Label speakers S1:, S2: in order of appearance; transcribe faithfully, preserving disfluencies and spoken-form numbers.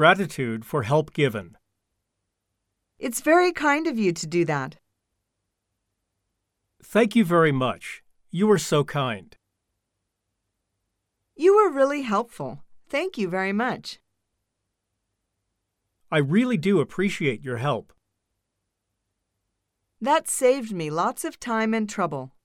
S1: gratitude for help given.
S2: It's very kind of you to do that.
S1: Thank you very much. You were so kind.
S2: You were really helpful. Thank you very much.
S1: I really do appreciate your help.
S2: That saved me lots of time and trouble.